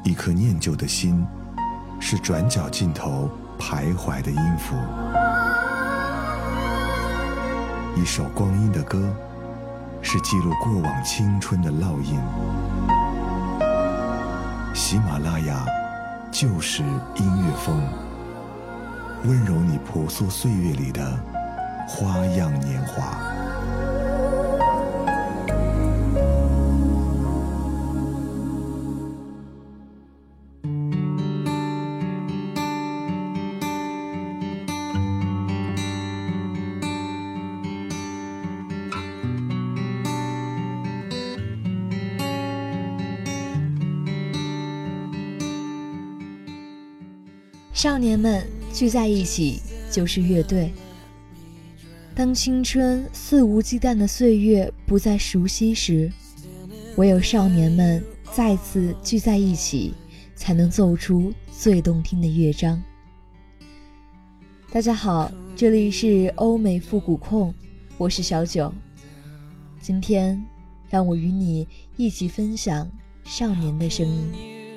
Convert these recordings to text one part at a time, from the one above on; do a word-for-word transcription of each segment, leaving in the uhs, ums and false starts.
一颗念旧的心，是转角尽头徘徊的音符。一首光阴的歌，是记录过往青春的烙印。喜马拉雅就是音乐风，温柔你朴素岁月里的花样年华。 少年们聚在一起就是乐队。当青春肆无忌惮的岁月不再熟悉时，唯有少年们再次聚在一起，才能奏出最动听的乐章。大家好，这里是欧美复古控，我是小九。今天让我与你一起分享少年的声音。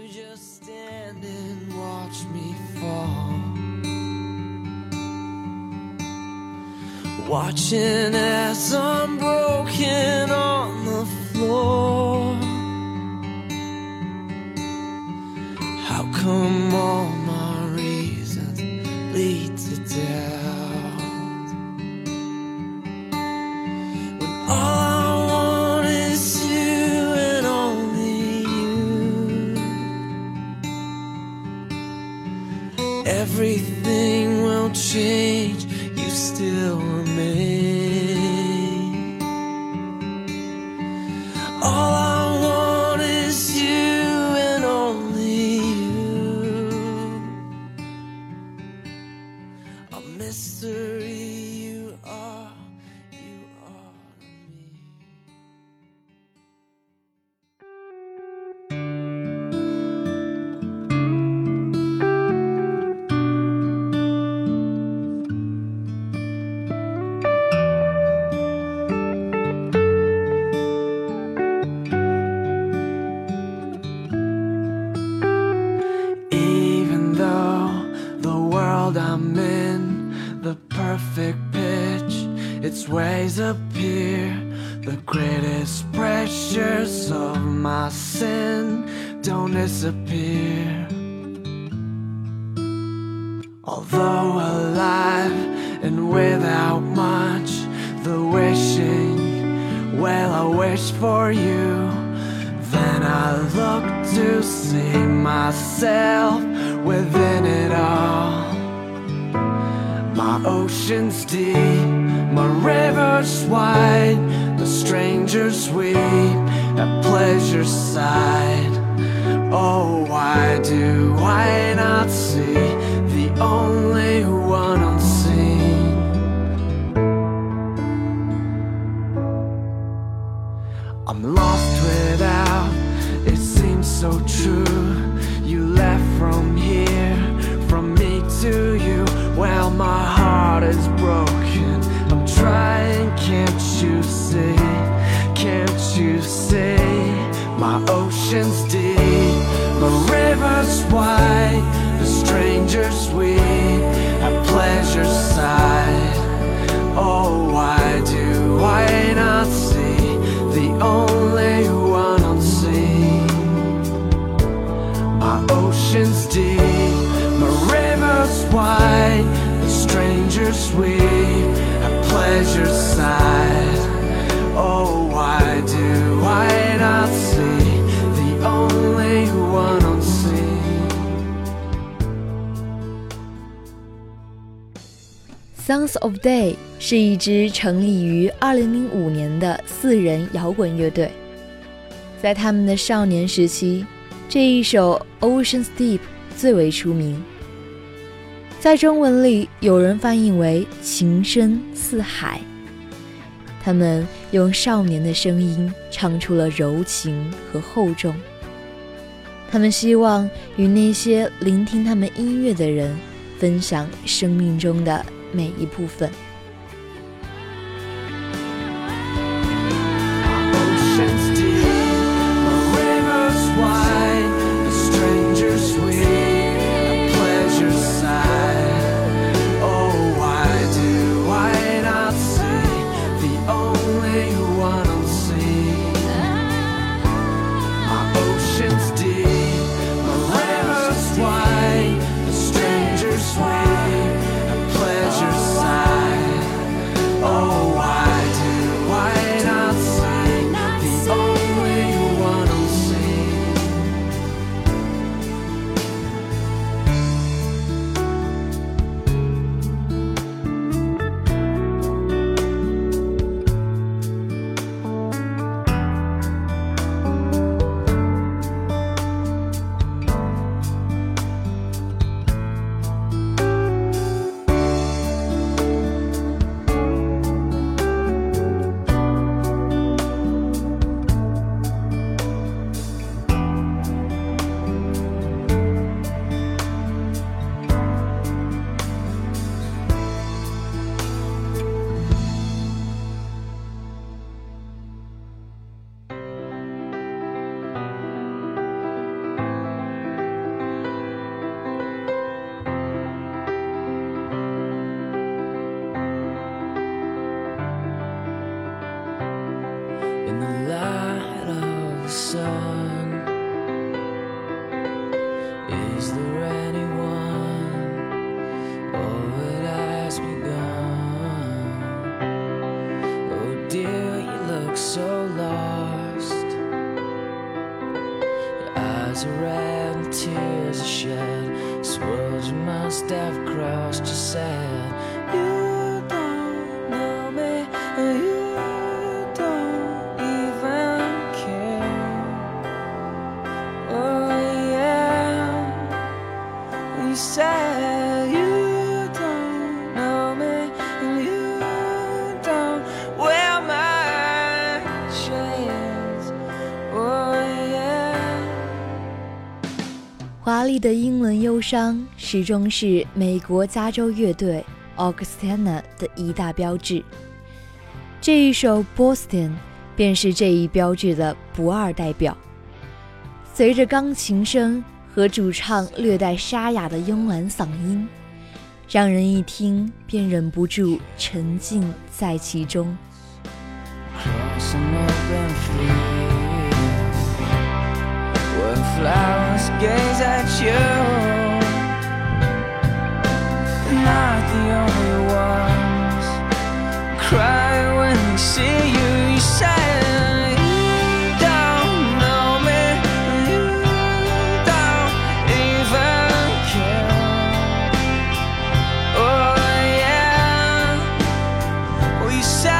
Watching as I'm broken on the floor. How come all my reasons lead to doubt, when all I want is you and only you? Everything will change, you still remain. All I want is you and only you. A mystery you are, you are to me. I'm in the perfect pitch, its ways appear. The greatest pressures of my sin don't disappear. Although alive and without much, the wishing, well, I wish for you. Then I look to see myself within it all. My ocean's deep, my river's wide, the strangers weep at pleasure's side. Oh, why do I not see the only one unseen? I'm lost without, it seems so true. You left from here, from me to you. Well, my heart is broken, I'm trying, can't you see, can't you see? My ocean's deep, my river's wide, the strangers weep at pleasure's side. Oh, why do I not see the only one unseen? My ocean's deep, my river's wide, the strangers weep at pleasure's side. Oh, why do I not see the only one unseen? Sons of Day 是一支成立于二零零五年的四人摇滚乐队。在他们的少年时期，这一首 Ocean's Deep 最为出名。在中文里有人翻译为情深似海。他们用少年的声音唱出了柔情和厚重。他们希望与那些聆听他们音乐的人分享生命中的每一部分。 Ocean's deep, my river's wide, the strength eyes are red and tears are shed. These words you must have crossed your sad. You don't know me, and you don't even care. Oh yeah, you said you don't know me, and you don't wear my shades. Oh yeah. 华丽的英伦忧伤始终是美国加州乐队 Augustana 的一大标志。这一首 Boston 便是这一标志的不二代表。随着钢琴声和主唱略带沙哑的慵懒嗓音，让人一听便忍不住沉浸在其中。 Crossing open field, where flowers gaze at you. Not the only ones cry when they see you. You say you don't know me, you don't even care. Oh yeah, well you say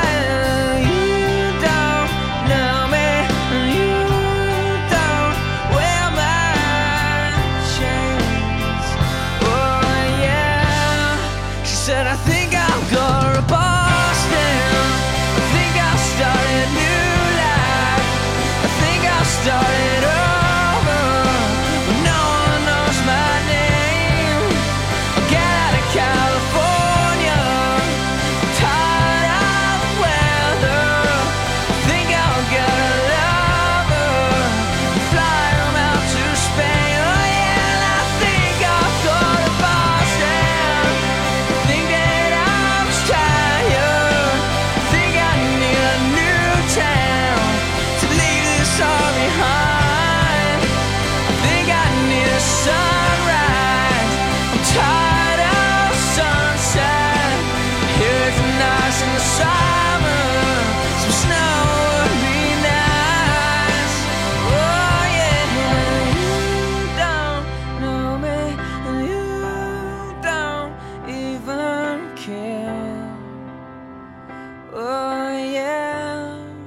I think I'll go to Boston. I think I'll start a new life. I think I'll start it over. But no one knows my name. I'll get out of California. I'm tired of the weather. I think I'll get a lover. Fly him out to Spain. Oh yeah, and I think I'll go to Boston. Think that I'm tired. Think I need a new town to leave this all behind. Think I need a sunrise. I'm tired of sunset. Here it's nice in the summer. Some snow would be nice. Oh yeah, you don't know me, and you don't even care. Oh yeah.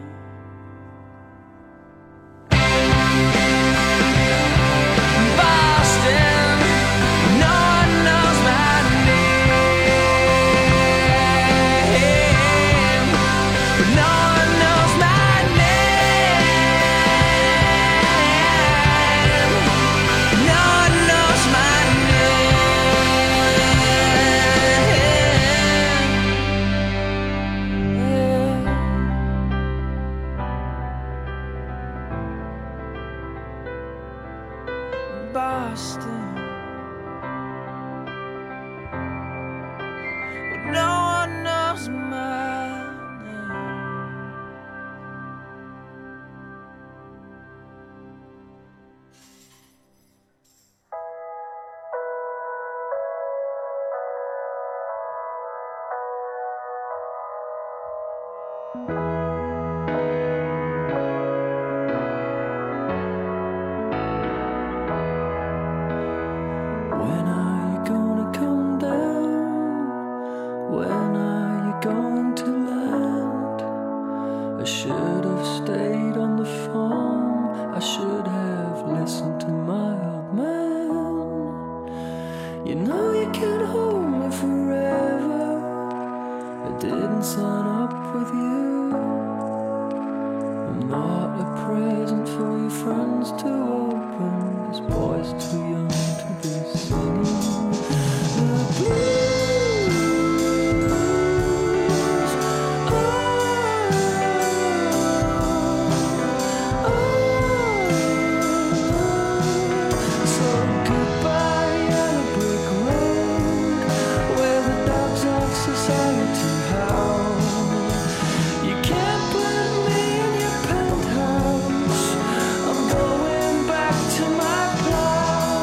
Boston, no one knows my name. No one knows my name. No one knows my name. Boston, no one knows my name. When are you gonna come down? When are you going to land? I should have stayed on the phone. I should have listened to my old man. You know you can't hold me forever. I didn't sign up with you. I'm not a present for your friends to open. This boy's too young to be singing the blues. Oh, oh, so goodbye yellow brick road, where the dogs of society howl. You can't put me in your penthouse. I'm going back to my place.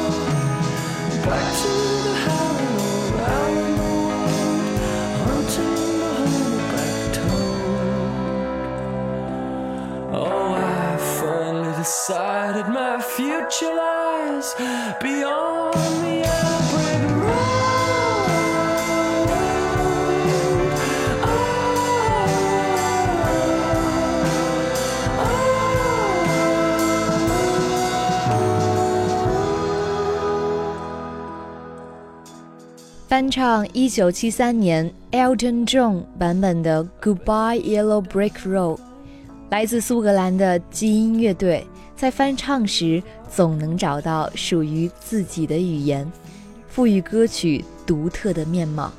future lies beyond the yellow brick road. Oh, oh. 翻唱一九七三年 Elton John 版本的 Goodbye Yellow Brick Road， 来自苏格兰的基因乐队在翻唱时总能找到属于自己的语言，赋予歌曲独特的面貌。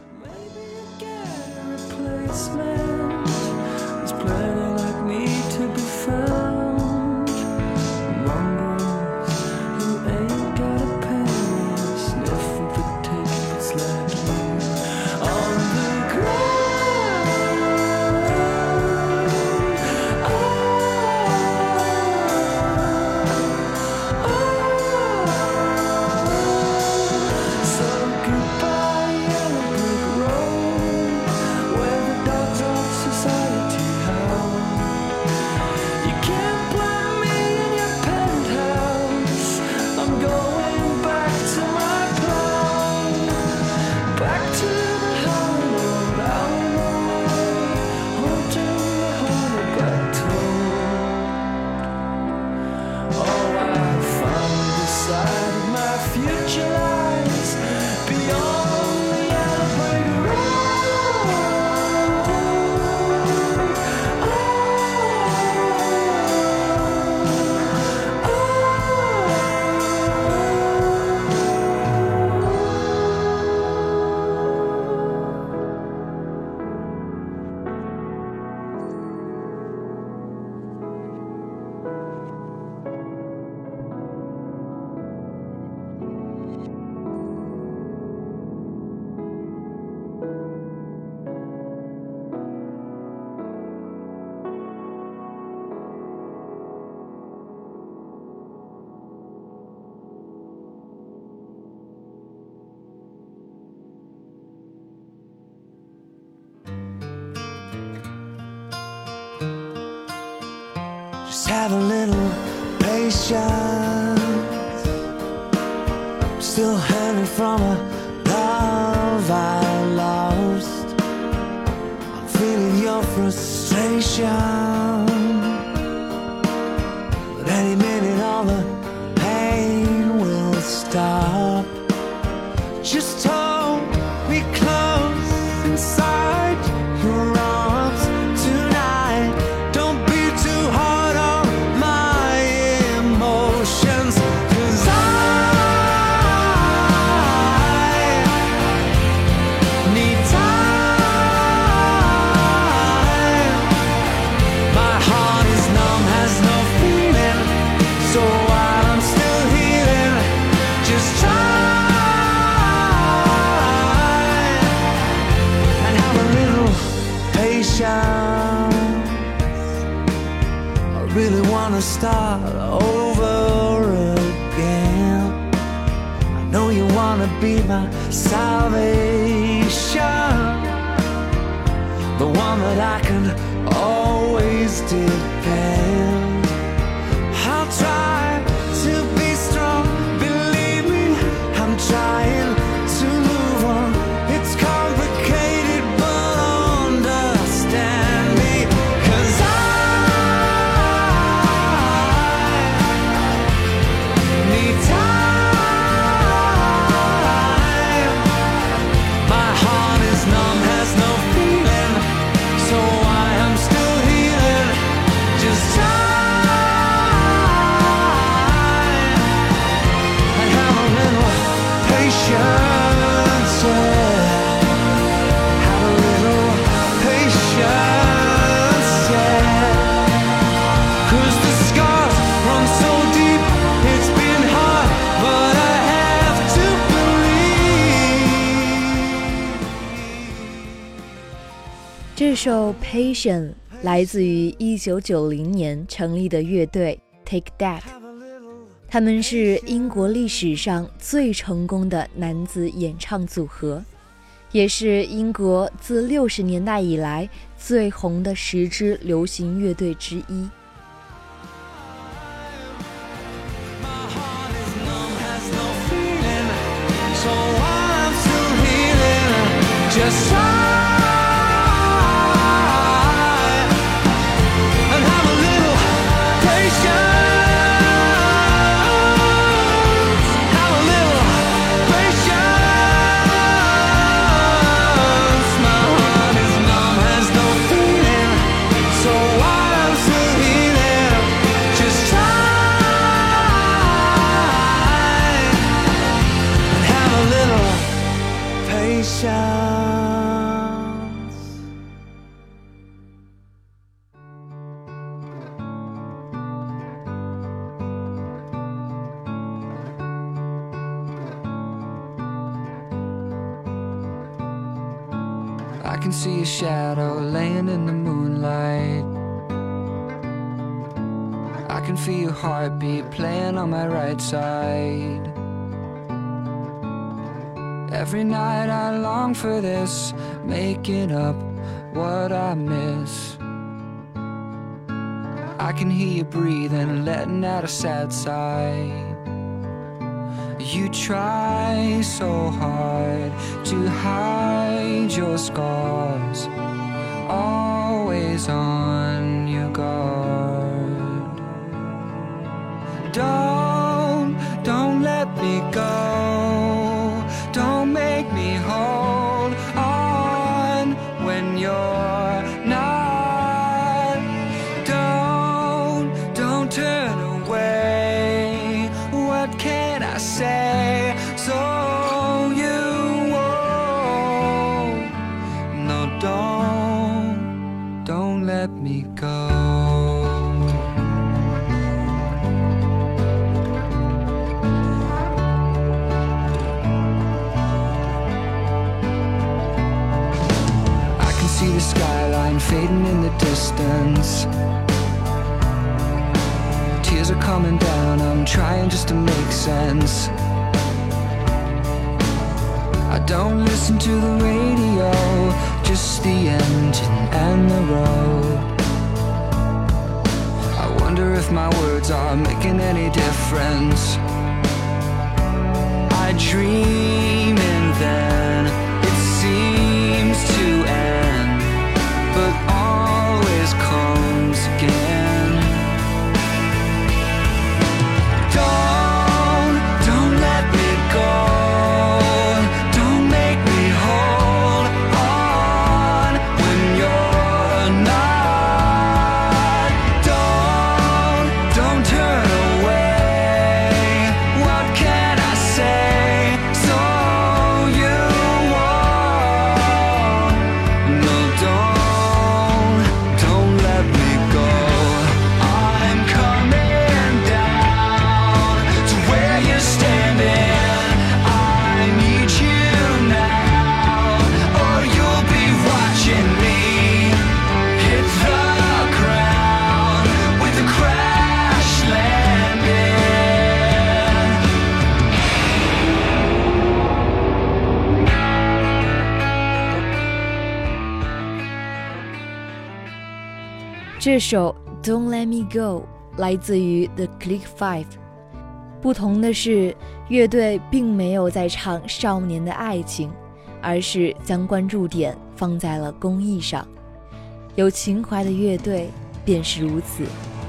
Just have a little patience. I'm still hanging from a love I lost. I'm feeling your frustration, but any minute all the pain will stop. Just hold me close inside your arms tonight. Don't be too hard on my emotions, 'cause I need time. My heart is numb, has no feeling, so while I'm still healing, just try and have a little patience. I really wanna start over again. I know you wanna be my salvation, the one that I can always depend. I'll try to be strong, believe me, I'm trying to move on. It's complicated, but understand me, 'cause I need time. My heart is numb, has no feeling, so I am still healing. Just time and have a little patience, yeah. Have a little patience, yeah. 'Cause the scars run so deep, it's been hard, but I have to believe. 这首 Patient 来自于一九九零年成立的乐队 Take That， 他们是英国历史上最成功的男子演唱组合，也是英国自六十年代以来最红的十支流行乐队之一。 My heart Just try and have a little patience. Have a little patience. My heart is numb, has no feeling, so while I'm still healing, just try and have a little patience. I can see a shadow laying in the moonlight. I can feel your heartbeat playing on my right side. Every night I long for this, making up what I miss. I can hear you breathing, letting out a sad sigh. You try so hard to hide your scars, always on your guard. Don't, don't let me go. Don't make me hold on when you're not. Don't, don't turn away. What can I say so you won't? No, don't, don't let me go. See the skyline fading in the distance. Tears are coming down, I'm trying just to make sense. I don't listen to the radio, just the engine and the road. I wonder if my words are making any difference. I dream and then it seems to end, but always comes again. Don't, don't let me go. Don't make me hold on when you're not. Don't, don't turn away. What can I say so you won't? No, don't, don't let me go. I'm coming down to where you're standing. I need you now, or you'll be watching me hit the ground with a crash landing. 这首 Don't Let Me Go 来自于 The Click Five。 不同的是，乐队并没有在唱少年的爱情，而是将关注点放在了公益上。有情怀的乐队便是如此。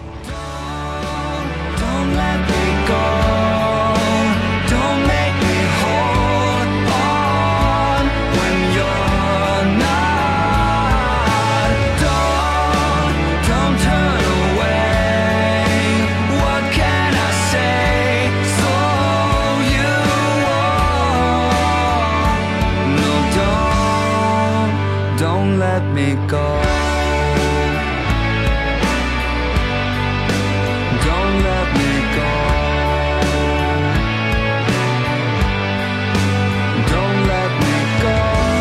Don't let me go. Don't make me hold on when you're not. Don't, don't turn away. What can I say so you won't? No, don't, don't let me go. Don't let me go. Don't let me go.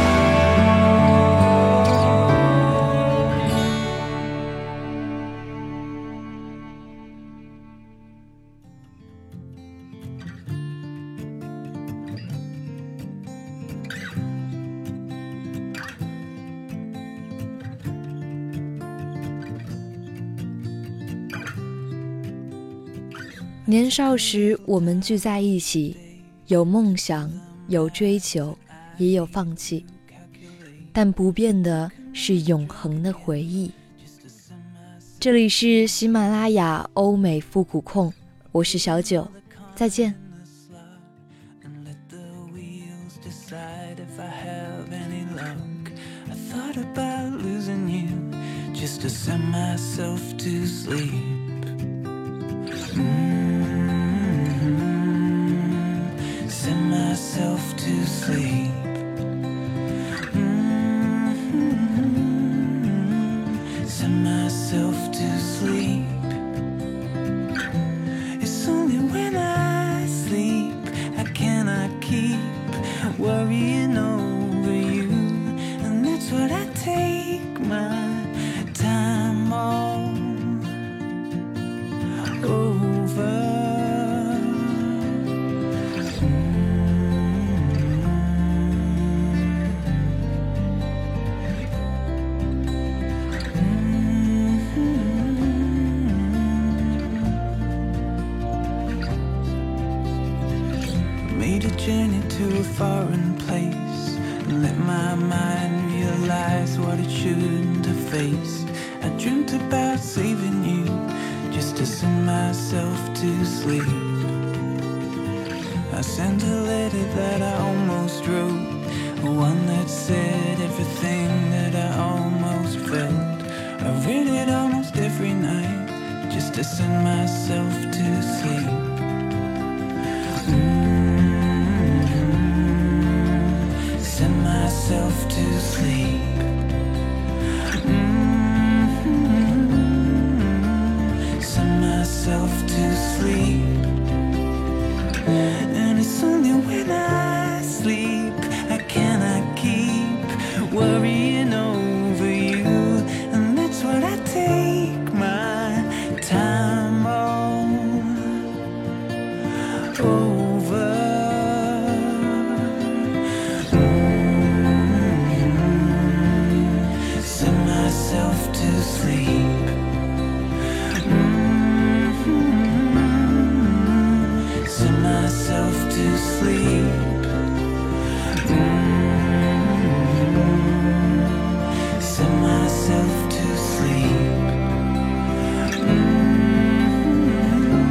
年少时，我们聚在一起，有梦想，有追求，也有放弃。 但不变的是永恒的回忆。这里是喜马拉雅欧美复古控，我是小九，再见。 Just to send myself to sleep. Mm-hmm. Send myself to sleep. Mm-hmm. Send myself to sleep. It's only when I sleep I cannot keep worrying over you, and that's what I take my time all over. Made a journey to a foreign place and let my mind realize what it shouldn't have faced. I dreamt about saving you just to send myself to sleep. I sent a letter that I almost wrote, one that said everything that I almost felt. I read it almost every night just to send myself to sleep. Mm-hmm. Send myself to sleep. Myself to sleep, and it's only when I sleep I cannot keep worrying over you, and that's what I take my time on over. Mm-hmm. Send myself to sleep. Send myself to sleep. Mm-hmm. Send myself to sleep.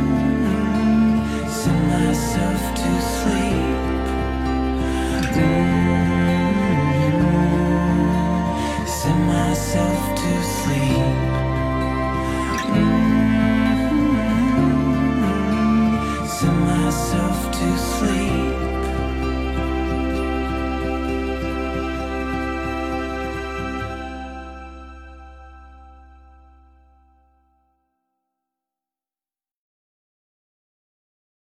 Mm-hmm. Send myself to sleep. Mm-hmm.